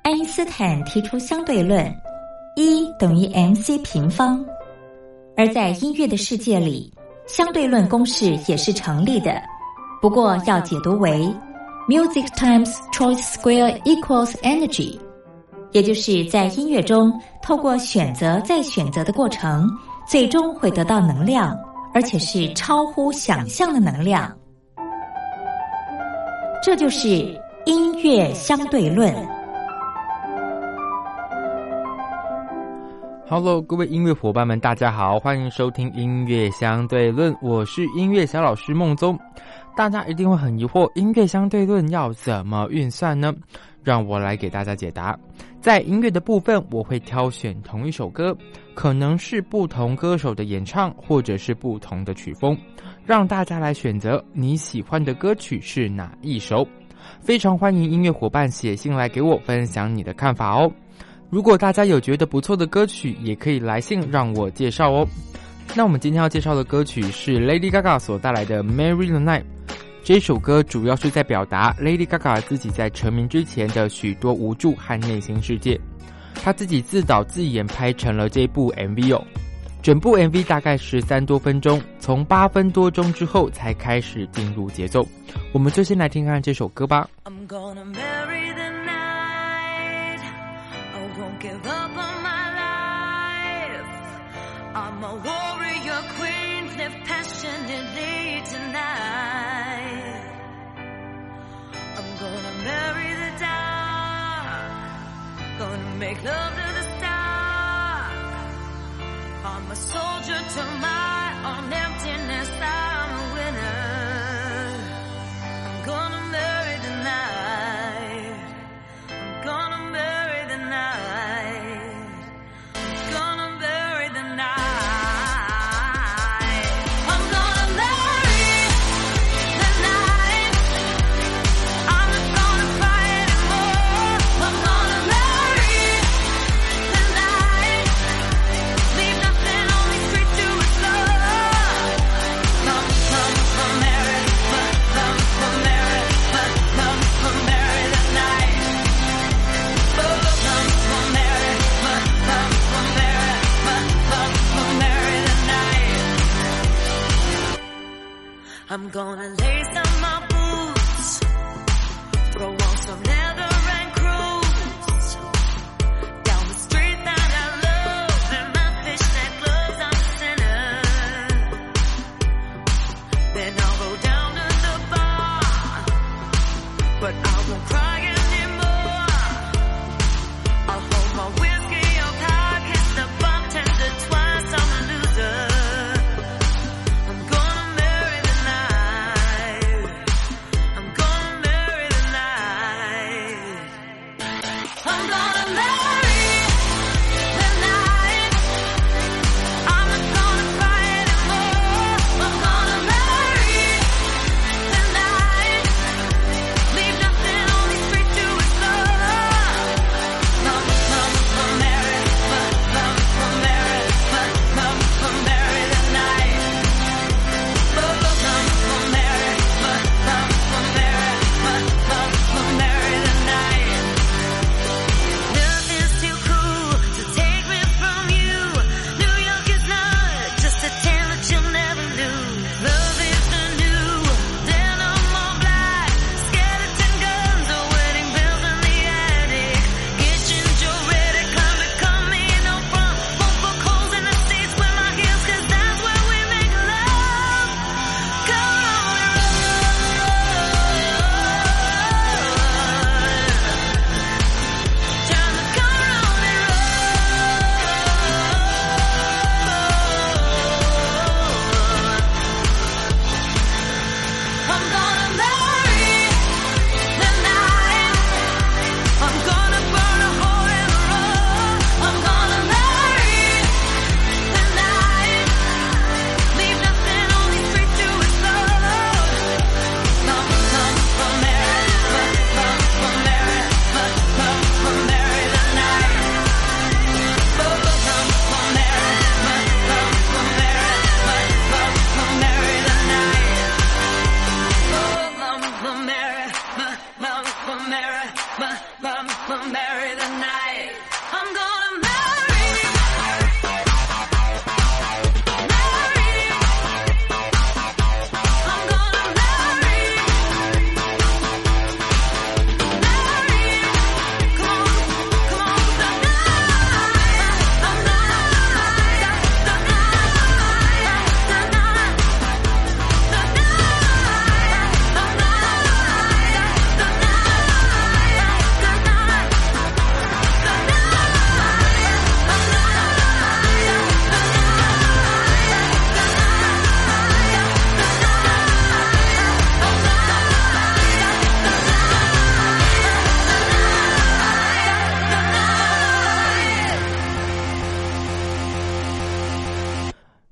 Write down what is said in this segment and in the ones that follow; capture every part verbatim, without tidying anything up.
爱因斯坦提出相对论，E等于 mc 平方。而在音乐的世界里，相对论公式也是成立的，不过要解读为 music times choice square equals energy， 也就是在音乐中透过选择再选择的过程，最终会得到能量，而且是超乎想象的能量。这就是音乐相对论。 Hello， 各位音乐伙伴们，大家好，欢迎收听音乐相对论，我是音乐小老师孟宗。大家一定会很疑惑，音乐相对论要怎么运算呢？让我来给大家解答。在音乐的部分，我会挑选同一首歌，可能是不同歌手的演唱，或者是不同的曲风，让大家来选择你喜欢的歌曲是哪一首。非常欢迎音乐伙伴写信来给我分享你的看法哦。如果大家有觉得不错的歌曲，也可以来信让我介绍哦。那我们今天要介绍的歌曲是 Lady Gaga 所带来的 Marry the Night。 这首歌主要是在表达 Lady Gaga 自己在成名之前的许多无助和内心世界，她自己自导自演拍成了这部 M V 哦。整部 M V 大概十三多分钟，从八分多钟之后才开始进入节奏。我们就先来听看这首歌吧。 I'm gonna marry the night, I won't give up on my life, I'm a warrior queen, live passionately tonight, I'm gonna marry the dark, gonna make love to the stars, I'm a soldier to my own emptiness, I'm a winner, I'm gonna marry the night, I'm gonna marry the night, I'm gonna marry the night, I'm gonna marry the night, I'm not gonna cry anymore, I'm gonna marry the night, leave nothing on these streets to explore, come, come, come marry, come, come, come marry, come, come, come marry the night, oh, come, come marry, come, come, come marry, come, come, come marry the night, I'm gonna lace up my boots, throw on some leather and cruise down the street that I love, in my fishnet gloves I'm a sinner, then I'll go down to the bar, but I won't cry anymore, I'll hold my whiskey up high, kiss the bartender twice, I'm a loser, I'm gonna marry the night,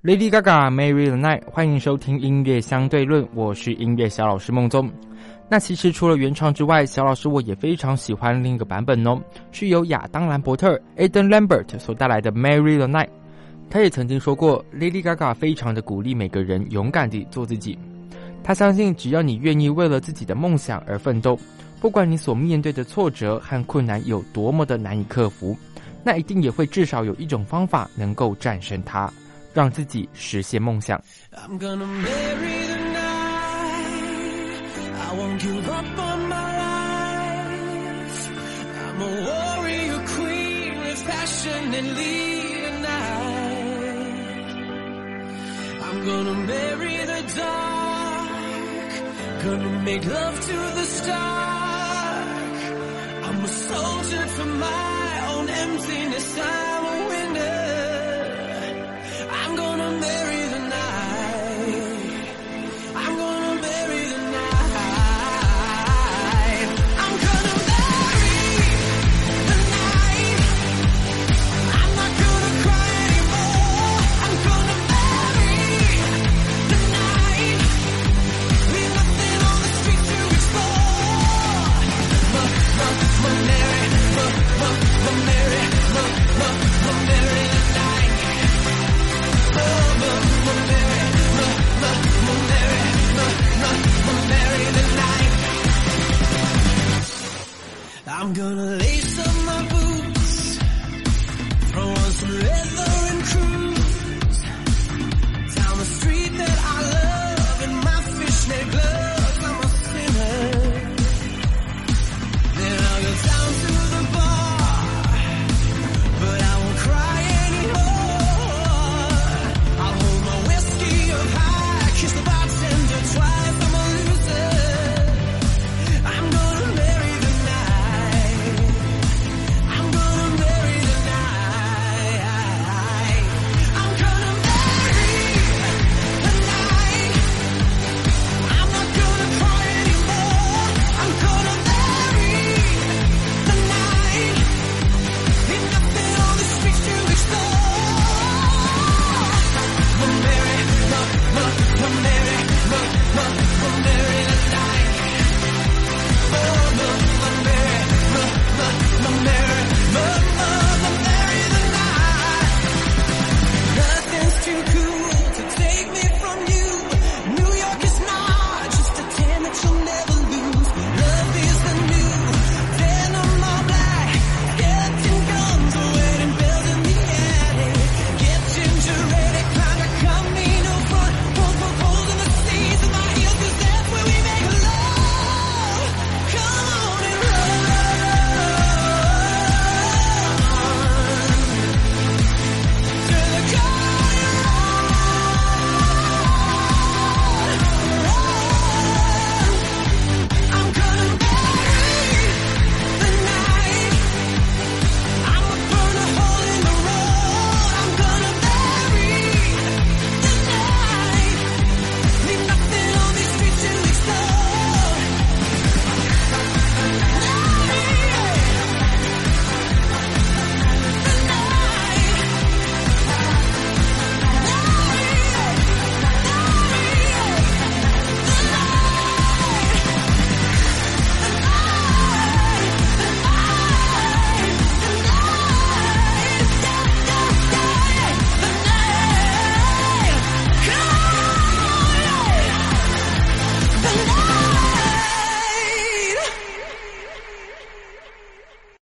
Lady Gaga Marry the Night， 欢迎收听音乐相对论，我是音乐小老师孟宗。那其实除了原唱之外，小老师我也非常喜欢另一个版本哦，是由亚当兰伯特 Adam Lambert 所带来的 Marry the Night。 他也曾经说过 Lady Gaga 非常的鼓励每个人勇敢地做自己，他相信只要你愿意为了自己的梦想而奋斗，不管你所面对的挫折和困难有多么的难以克服，那一定也会至少有一种方法能够战胜它，让自己实现梦想。 I'm gonna marry the night. I won't give up on my life. I'm a warrior queen with passion and lead a night. I'm gonna marry the dark. Gonna make love to the stark. I'm a soldier for my own emptiness. I'm a winner. I'm gonna marry the night. I'm gonna marry the night. I'm gonna marry the night. I'm not gonna cry anymore. I'm gonna marry the night. Leave nothing on the street to explore. Ma, ma, ma, marry, ma, ma, ma, marry, ma, ma, ma, marry the night. Ma, ma, ma, marry, ma, ma, ma, marry, ma, ma, ma, marry the night. I'm gonna